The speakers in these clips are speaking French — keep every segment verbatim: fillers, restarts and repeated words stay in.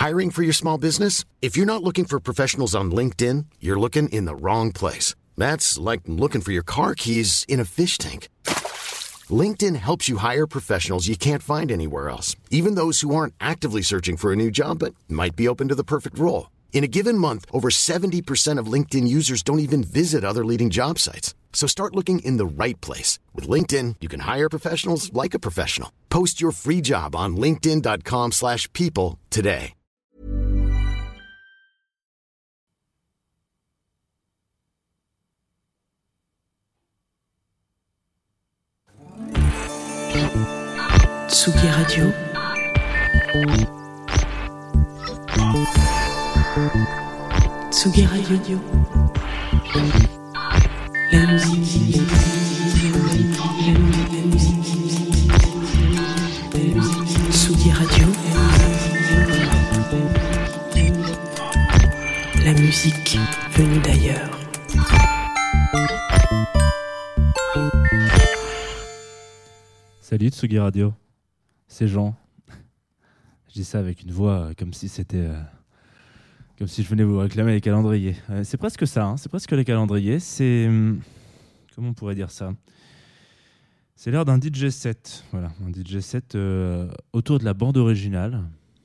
Hiring for your small business? If you're not looking for professionals on LinkedIn, you're looking in the wrong place. That's like looking for your car keys in a fish tank. LinkedIn helps you hire professionals you can't find anywhere else, even those who aren't actively searching for a new job but might be open to the perfect role. In a given month, over seventy percent of LinkedIn users don't even visit other leading job sites. So start looking in the right place. With LinkedIn, you can hire professionals like a professional. Post your free job on linkedin.com slash people today. Tsugi Radio. Tsugi Radio. La musique. La musique. Tsugi Radio. La musique venue d'ailleurs. Salut Tsugi Radio, c'est Jean. Je dis ça avec une voix euh, comme si c'était, euh, comme si je venais vous réclamer les calendriers. Euh, c'est presque ça, hein, c'est presque les calendriers. C'est, hum, comment on pourrait dire ça ? C'est l'heure d'un D J set, voilà, un D J set euh, autour de la bande originale.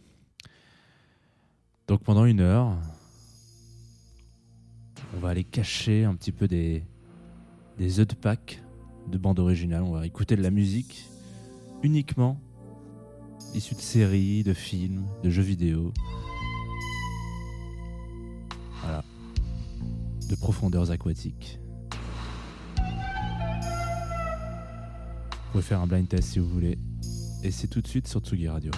Donc pendant une heure, on va aller cacher un petit peu des des œufs de Pâques de bande originale. On va écouter de la musique uniquement issue de séries, de films, de jeux vidéo. Voilà. De profondeurs aquatiques. Vous pouvez faire un blind test si vous voulez. Et c'est tout de suite sur Tsugi Radio.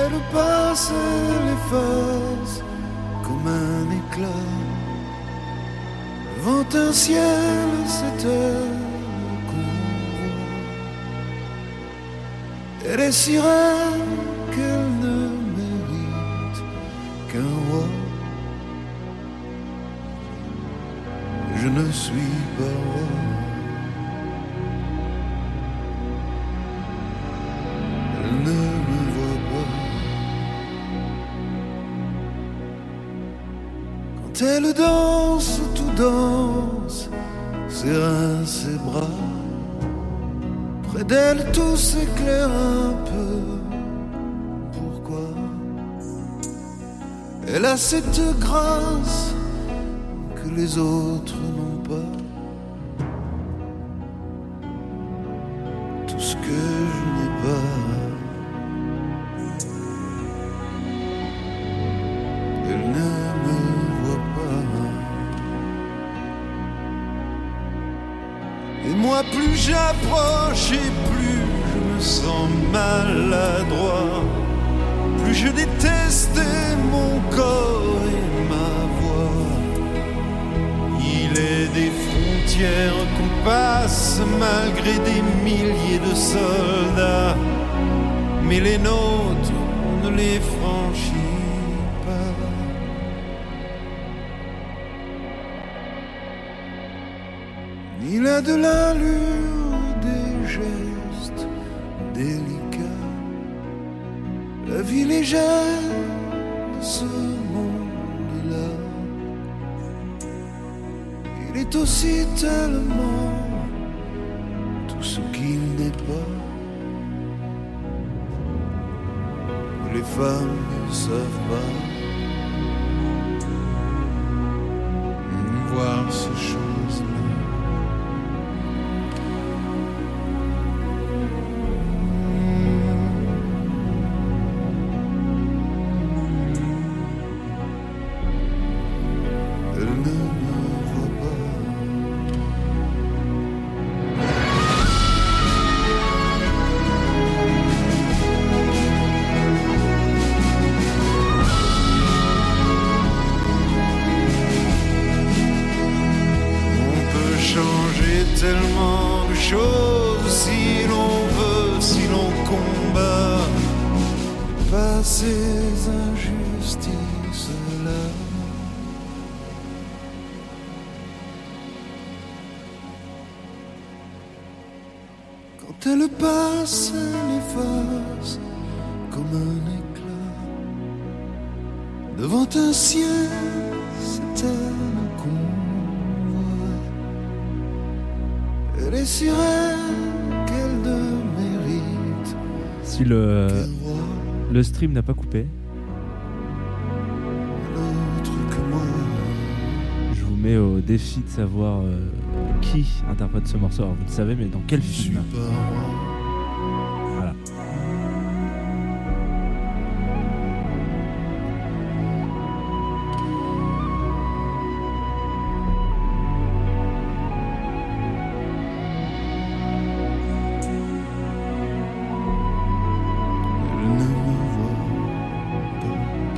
elle passe, elle efface comme un éclat. Devant un ciel, c'est elle qu'on voit. Elle est si reine qu'elle ne mérite qu'un roi. Je ne suis pas roi. Elle ne me voit pas. Quand elle danse, tout danse, ses reins, ses bras. Près d'elle, tout s'éclaire un peu. Pourquoi? Elle a cette grâce que les autres n'ont pas. Tout ce que je n'ai pas. Elle ne me voit pas. Et moi plus j'approche et plus je me sens maladroit. Plus je détestais mon corps et ma voix. Il est des frontières qu'on passe malgré des milliers de soldats. Mais les nôtres, on ne les franchit pas. Il a de l'allure, des gestes délicats. La vie légère de ce monde-là. Il est aussi tellement tout ce qu'il n'est pas. Les femmes ne savent pas voir ces choses-là. Tellement de choses si l'on veut, si l'on combat, pas ces injustices-là. Quand elle passe, elle efface comme un éclat. Devant un ciel, c'est elle qu'on voit. Elle est si reine qu'elle ne mérite. Si le, le stream n'a pas coupé, L'autre que moi. je vous mets au défi de savoir euh, qui interprète ce morceau. Alors vous le savez, mais dans quel Je suis film? pas roi. Voilà. Elle ne me voit pas.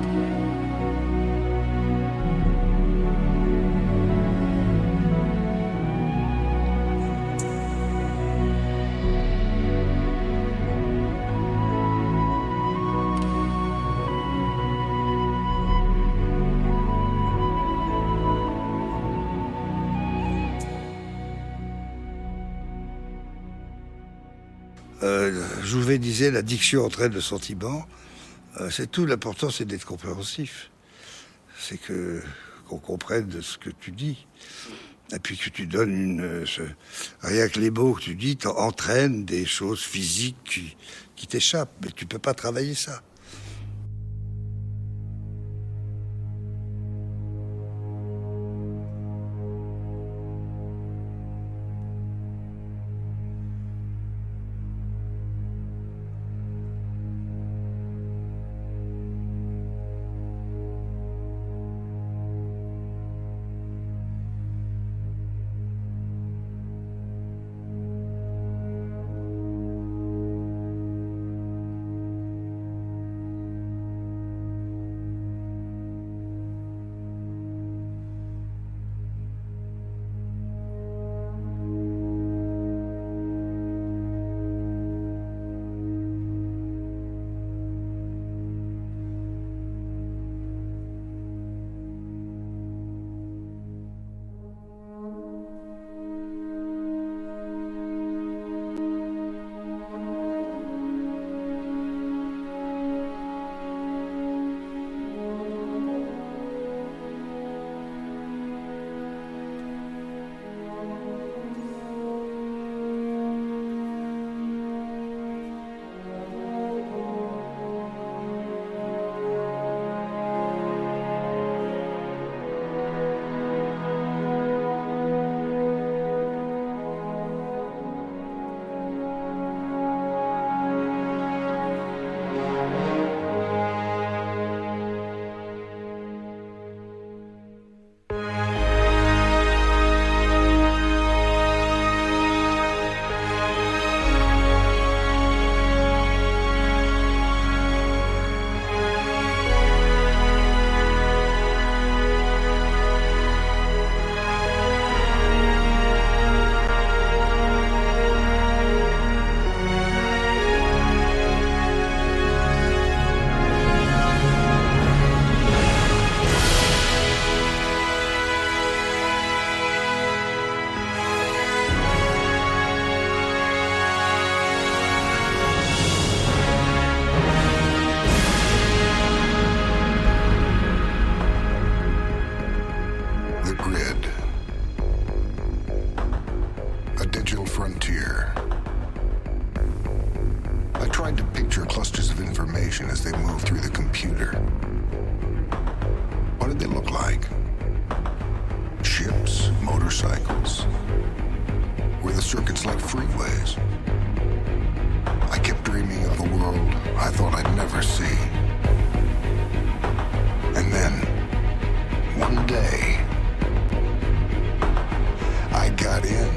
Euh, Jouvet disait la diction entraîne le sentiment. Euh, c'est tout, l'important c'est d'être compréhensif. C'est que qu'on comprenne ce que tu dis. Et puis que tu donnes une... euh, ce- rien que les mots que tu dis entraînent des choses physiques qui, qui t'échappent. Mais tu peux pas travailler ça. a digital frontier. I tried to picture clusters of information as they moved through the computer. What did they look like? Ships, motorcycles? Were the circuits like freeways? I kept dreaming of a world I thought I'd never see. And then, one day, I got in.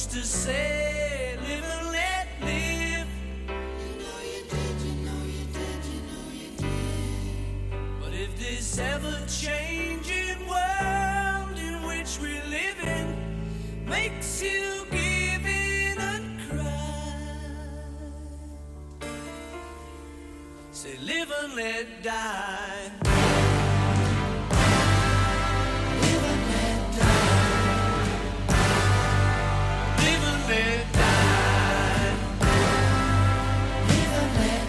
used to say, live and let live. You know you did, you know you did, you know you did. But if this ever-changing world in which we live in makes you give in and cry, say live and let die. Live and let die. Live and let die. Live and let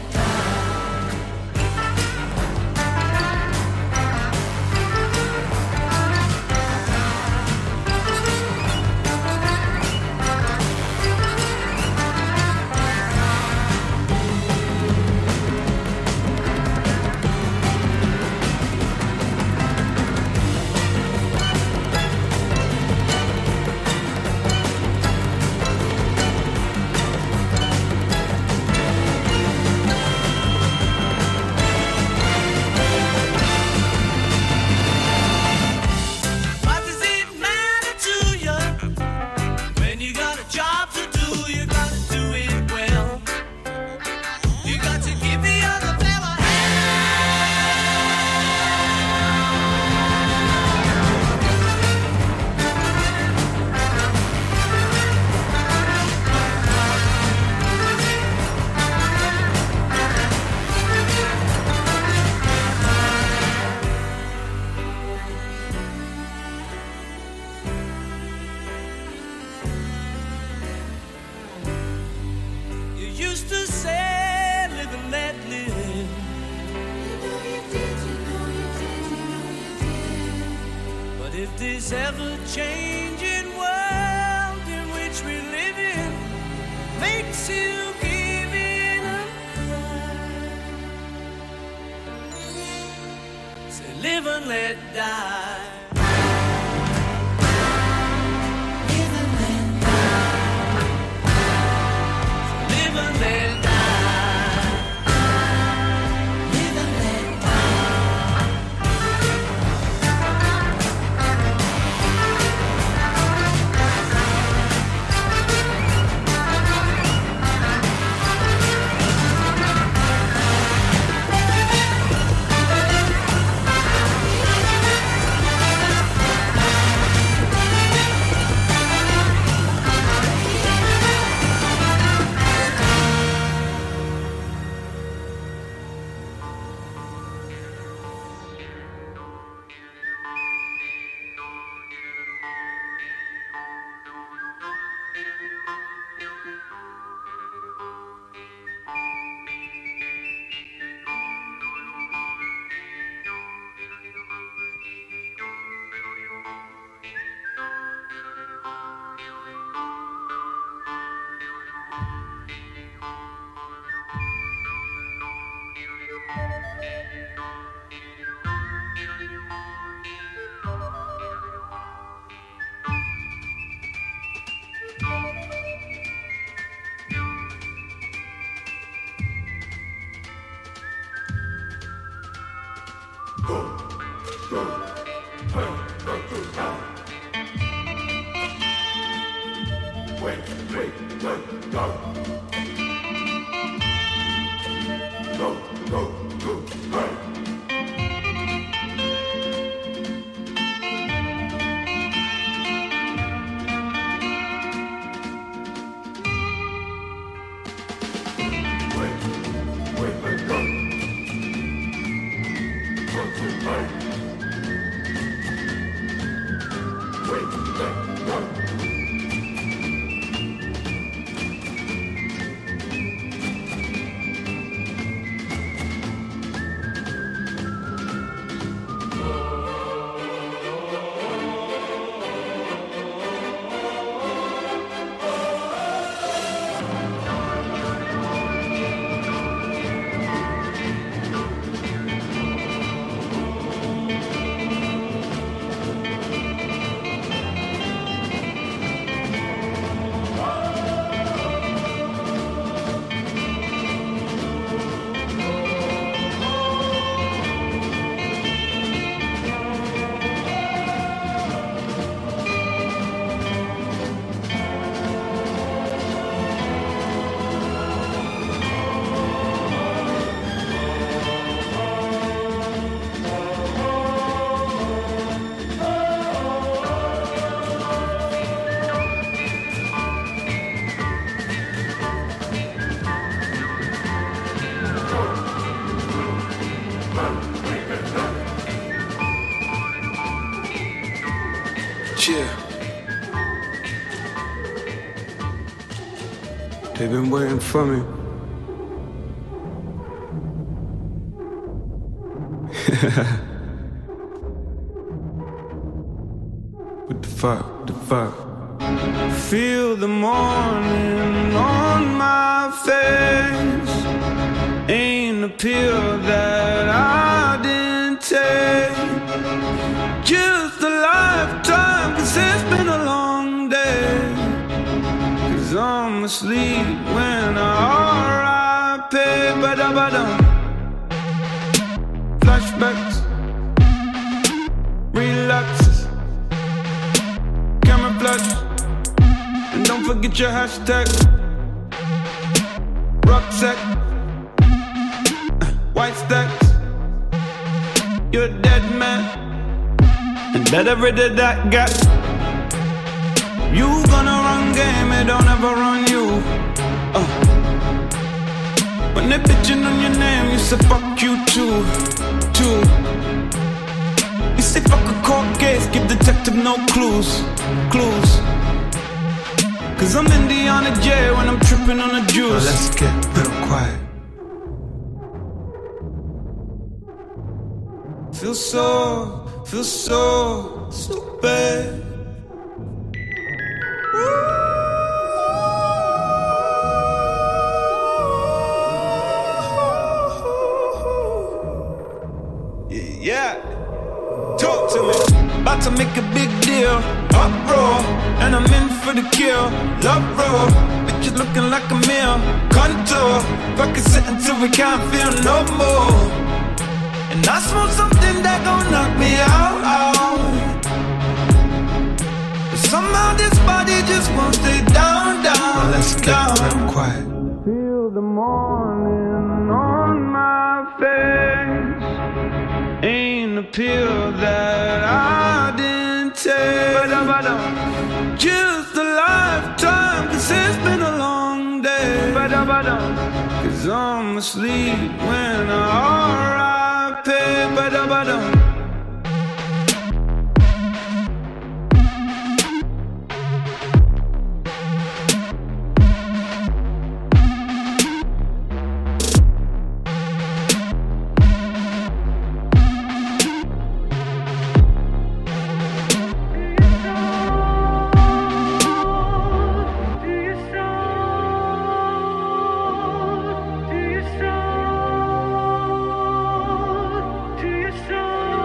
ever-changing world in which we live in makes you give in and cry, say live and let die. Live and let die. Live and let die. Live and let Yeah. They've been waiting for me. What the fuck, the fuck? Feel the morning on my face. Ain't a pill that I didn't take. Just a lifetime, cause it's been a long day. Cause I'm asleep when I R I P. Ba-da-ba-dum. Flashbacks, relapses, camouflage, and don't forget your hashtag. Rucksack, white stacks, you're a dead man, and better rid of that gap. You gonna run game, it don't ever run you. uh. When they bitchin' on your name, you say fuck you too, too. You say fuck a court case, give detective no clues, clues. Cause I'm Indiana J when I'm trippin' on the juice. Well, let's get real quiet. Feel so, feel so stupid. Yeah, talk to me. About to make a big deal. Uproar, and I'm in for the kill. Love roll, bitches looking like a meal. Contour, fuck it sit until we can't feel no more. And I smoke something that gon' knock me out, out. But somehow this body just won't stay down, down. Well, let's get down. Real quiet. Feel the morning on my face. Ain't a pill that I didn't take. Just a lifetime, cause it's been a long day. Cause I'm asleep when I R I P. Do you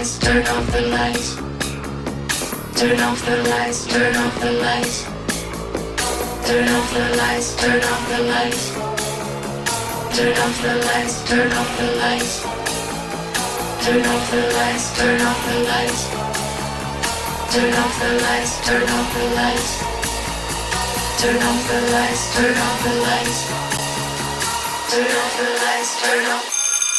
lights, turn off the lights. Turn off the lights, turn off the lights. Turn off the lights, turn off the lights. Turn off the lights, turn off the lights. Turn off the lights, turn off the lights. Turn off the lights, turn off the lights. Turn off the lights, turn off the lights. Turn off the lights, turn off.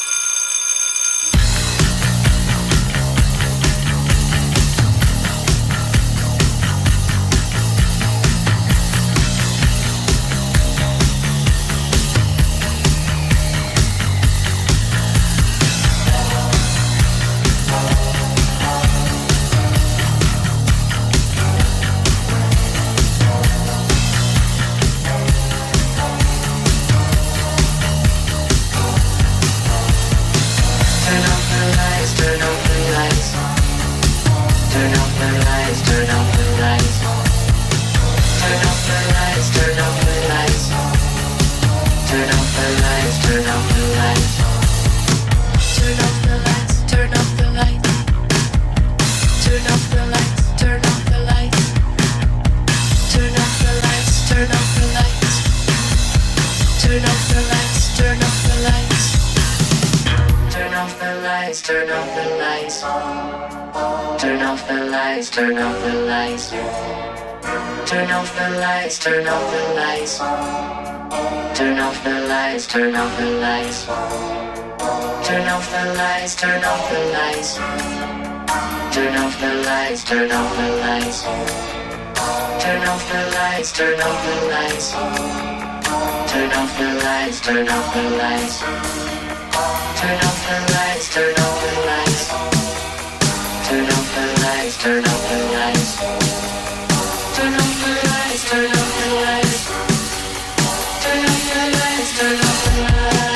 Turn off the lights. Turn off the lights, turn off the lights. Turn off the lights, turn off the lights. Turn off the lights, turn off the lights. Turn off the lights, turn off the lights. Turn off the lights, turn off the lights. Turn off the lights, turn off the lights. Turn off the lights, turn off the lights. Turn off the lights, turn off the lights. Turn off the lights, turn off the lights. Turn off the lights, turn off the lights.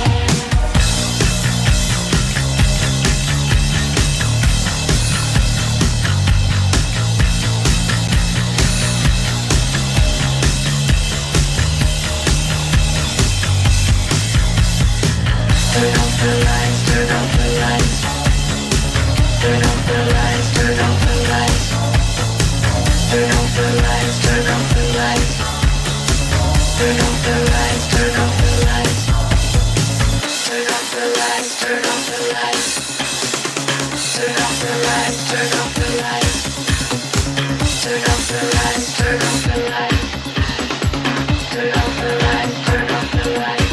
Turn off the lights, turn off the lights. Turn off the lights, turn off the lights. Turn off the lights, turn off the lights. Turn off the lights, turn off the lights. Turn off the lights, turn off the lights. Turn off the lights, turn off the lights. Turn off the lights, turn off the lights. Turn off the lights, turn off the lights.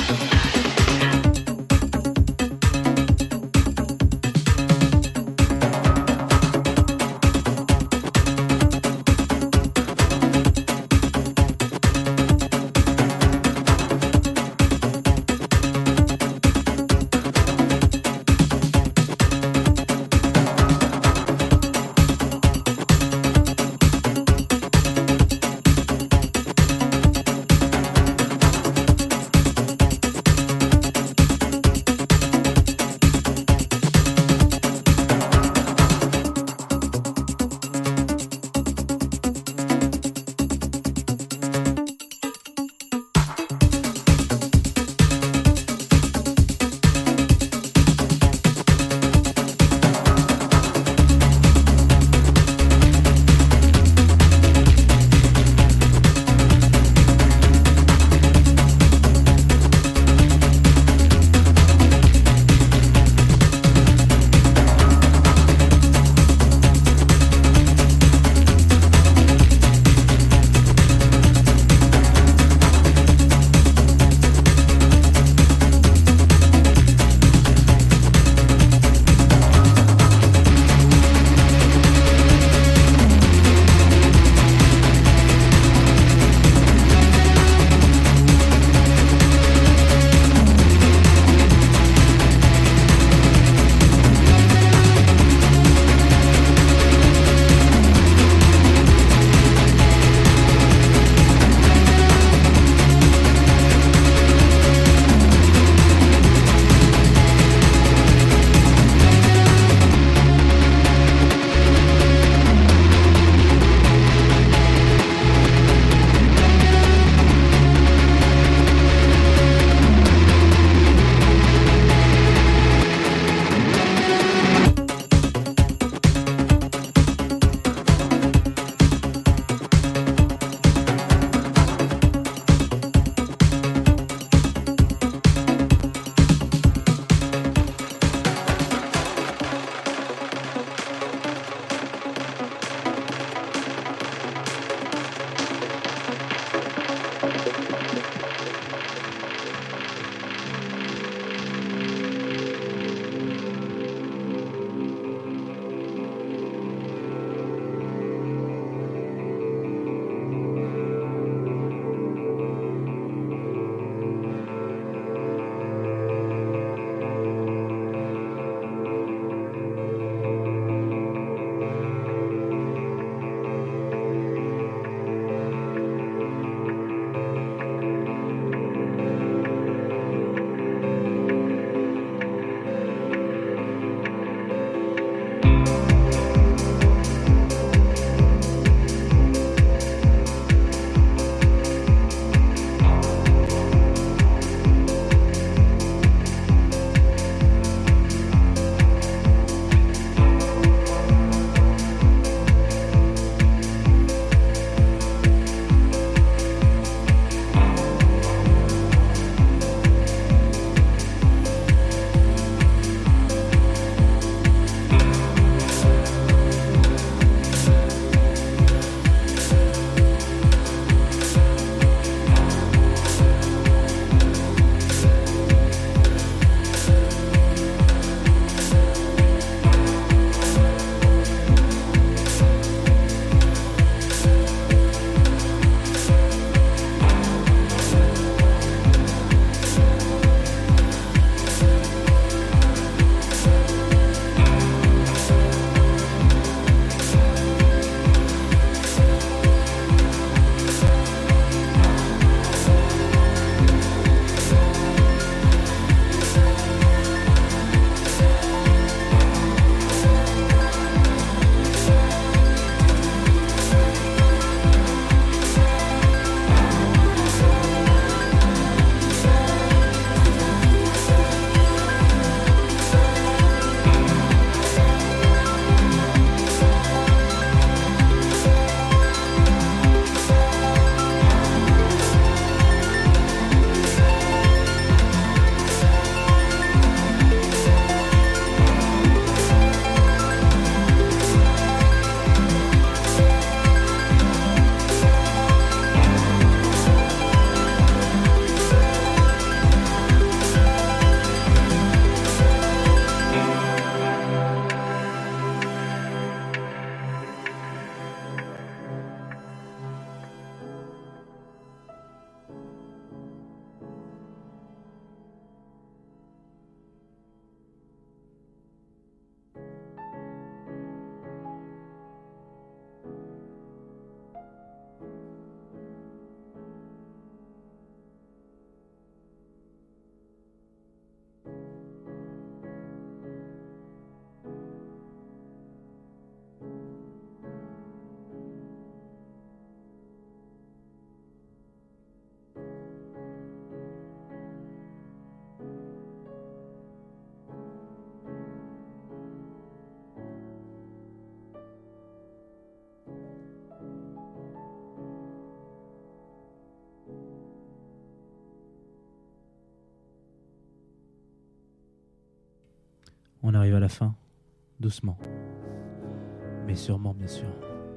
On arrive à la fin, doucement. Mais sûrement, bien sûr.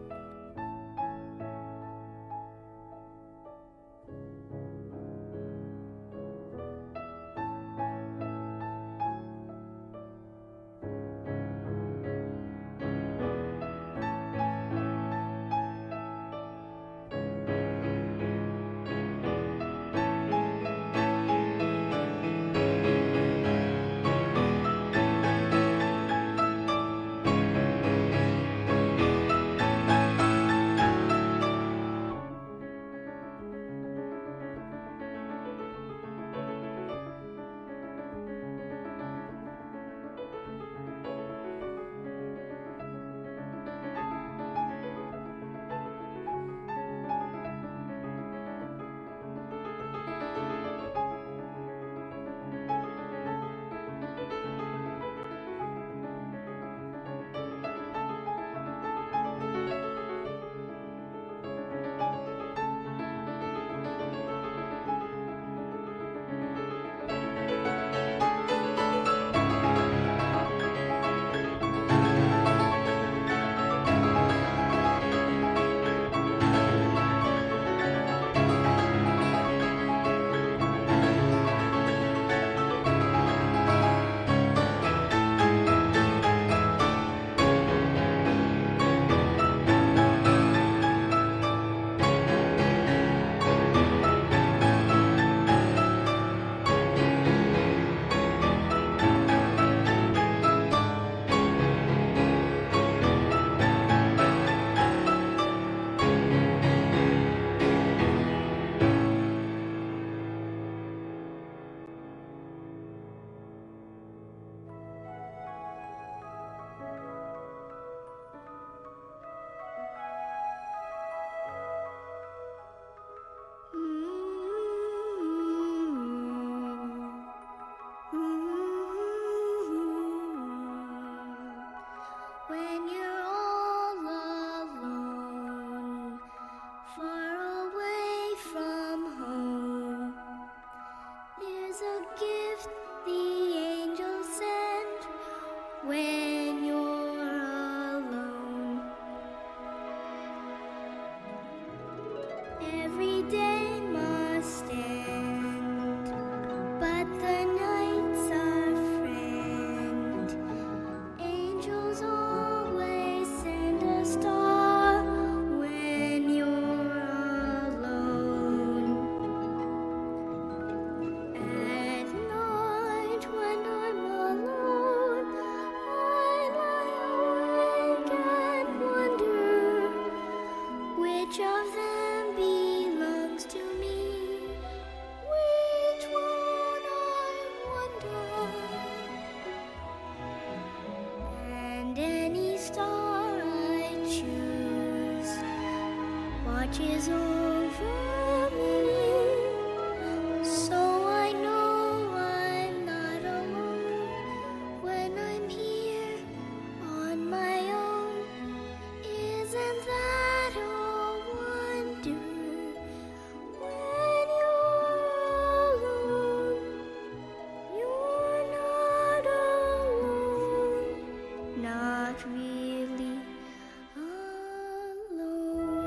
watches over me, so I know I'm not alone when I'm here on my own. Isn't that a wonder? When you're alone, you're not alone, not really alone.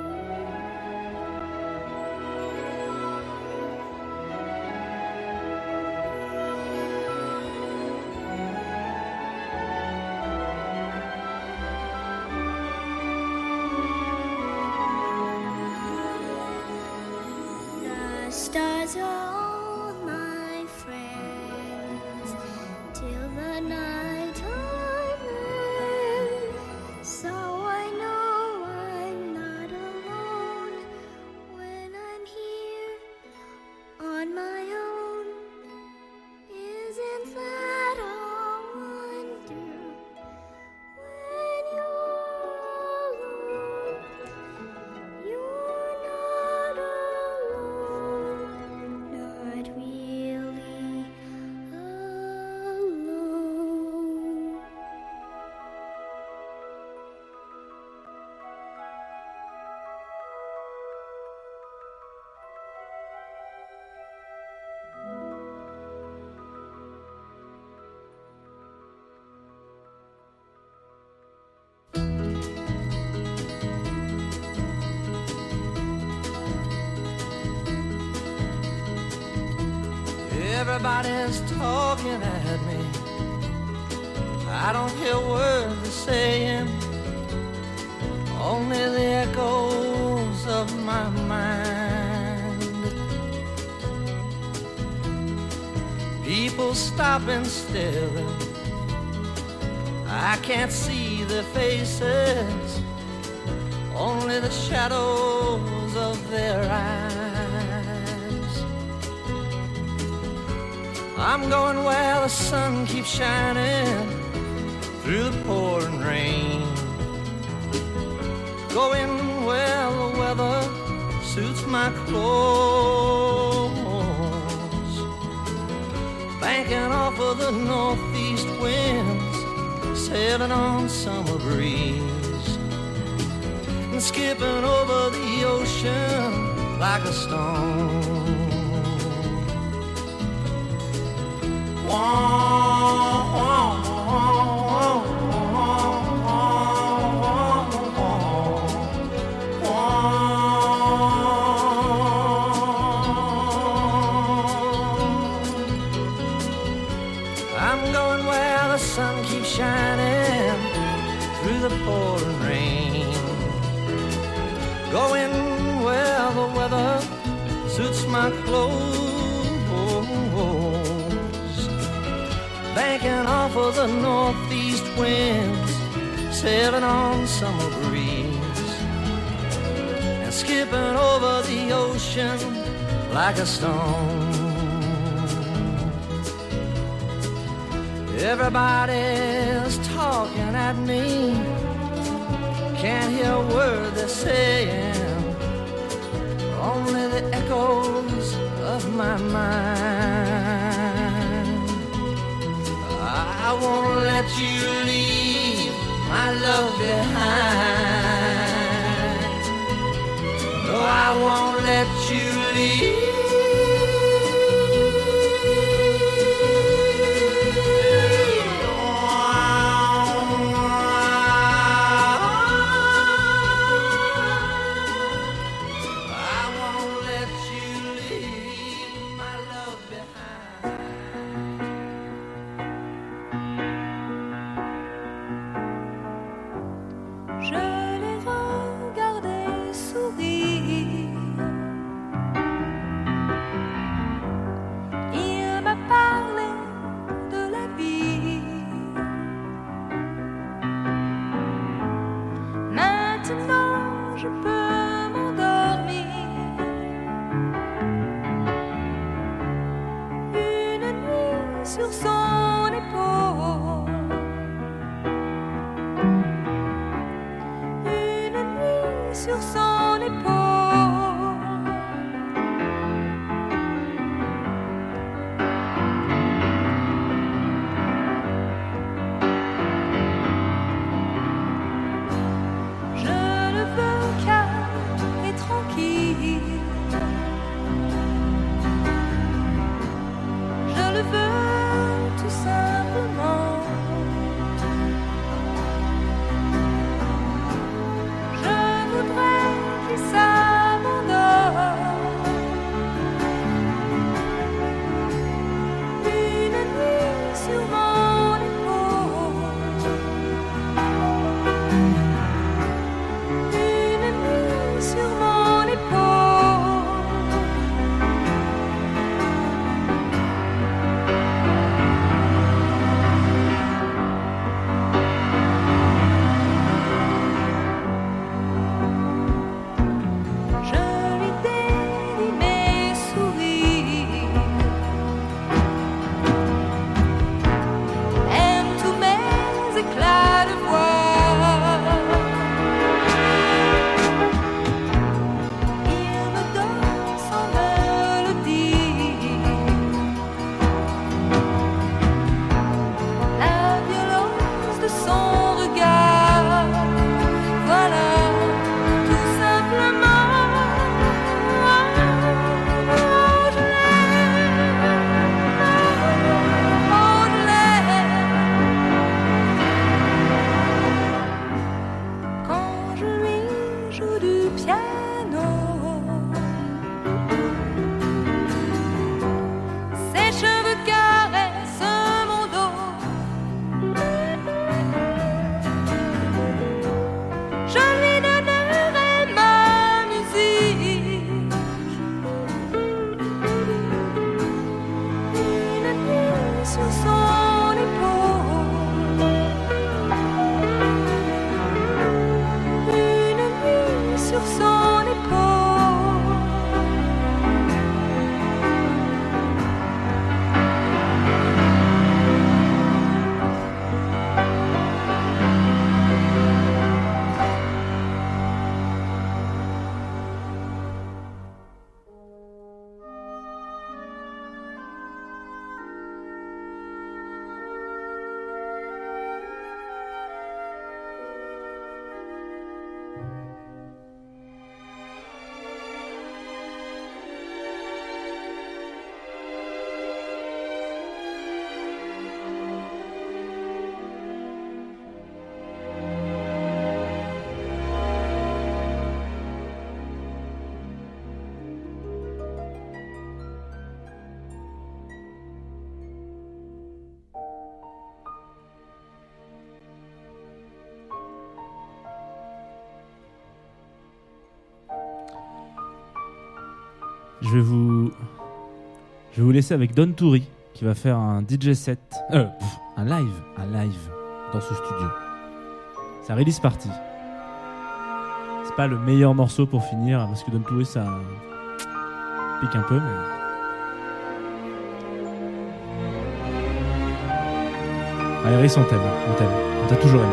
The stars are all my friends till the night time ends. So I know I'm not alone when I'm here on my own. Isn't that a wonder? When you're alone, you're not alone, not Everybody's talking at me. I don't hear words they're saying, only the echoes of my mind. People stop and staring, I can't see their faces, only the shadows of their eyes. I'm going where the sun keeps shining through the pouring rain, going where the weather suits my clothes, banking off of the northeast winds, sailing on summer breeze, and skipping over the ocean like a stone. Wah, wah, wah, I'm going where the sun keeps shining through the pouring rain, going where the weather suits my clothes, banking off of the northeast winds, sailing on summer breeze, and skipping over the ocean like a stone. Everybody's talking at me, can't hear a word they're saying, only the echoes of my mind. I won't let you leave my love behind. No, I won't let you leave. Je le veux tout simplement. Je vais vous, je vais vous laisser avec Don Toury qui va faire un D J set, euh, pff, un live, un live dans ce studio. C'est un release party. C'est pas le meilleur morceau pour finir parce que Don Toury ça pique un peu, mais. Allez, Iris, on t'aime, on t'aime, on t'a toujours aimé.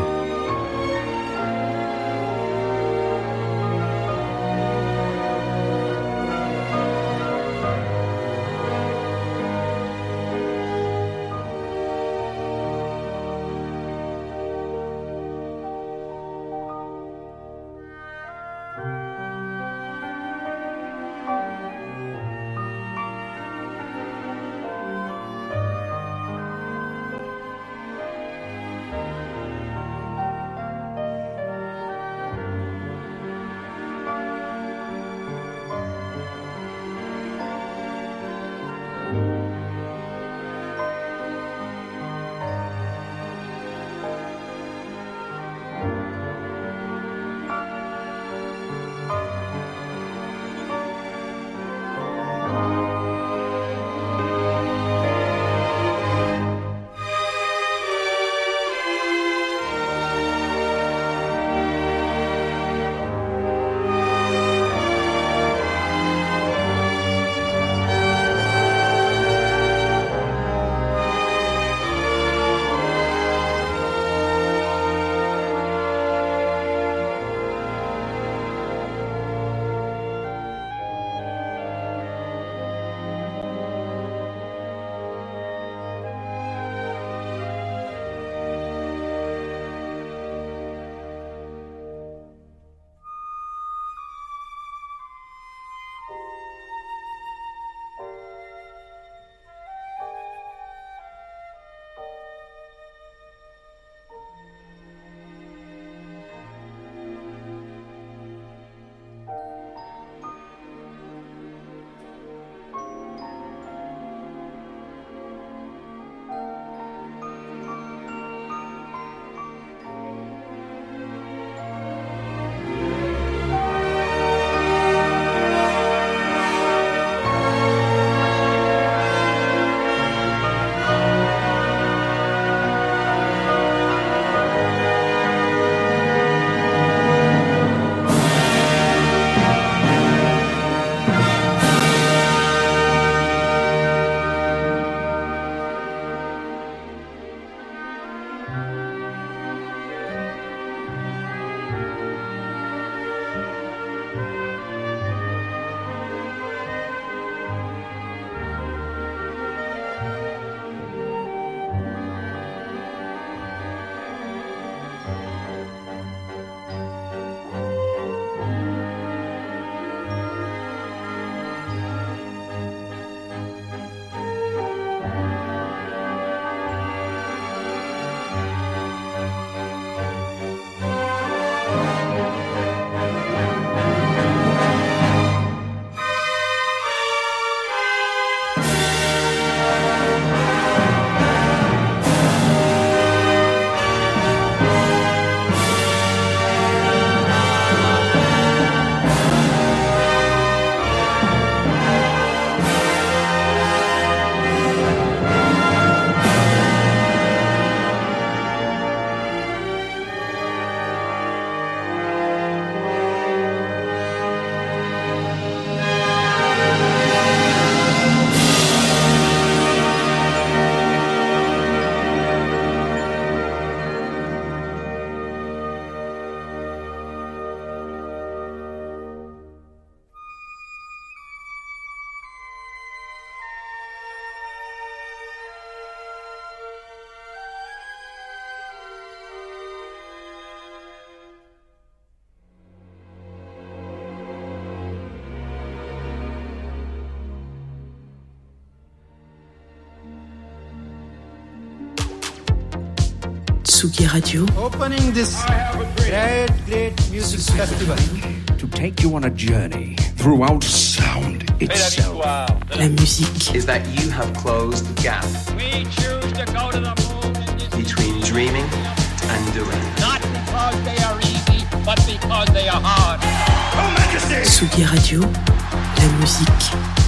Tsugi Radio. Opening this great, great music festival. To take you on a journey throughout sound itself. La musique. Is that you have closed the gap. We choose to go to the moon between dreaming and doing. Not because they are easy, but because they are hard. Tsugi Radio. La musique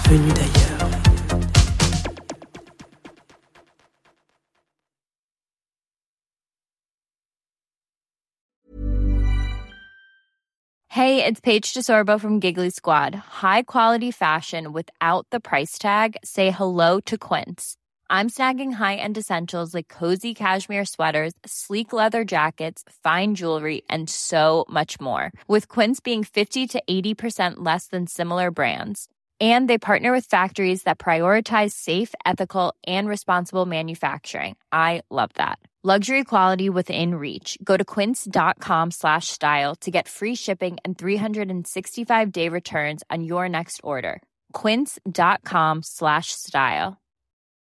venu d'ailleurs. Hey, it's Paige DeSorbo from Giggly Squad. High quality fashion without the price tag. Say hello to Quince. I'm snagging high-end essentials like cozy cashmere sweaters, sleek leather jackets, fine jewelry, and so much more. With Quince being fifty to eighty percent less than similar brands. And they partner with factories that prioritize safe, ethical, and responsible manufacturing. I love that. Luxury quality within reach. Go to quince.com slash style to get free shipping and three sixty-five day returns on your next order. Quince.com slash style.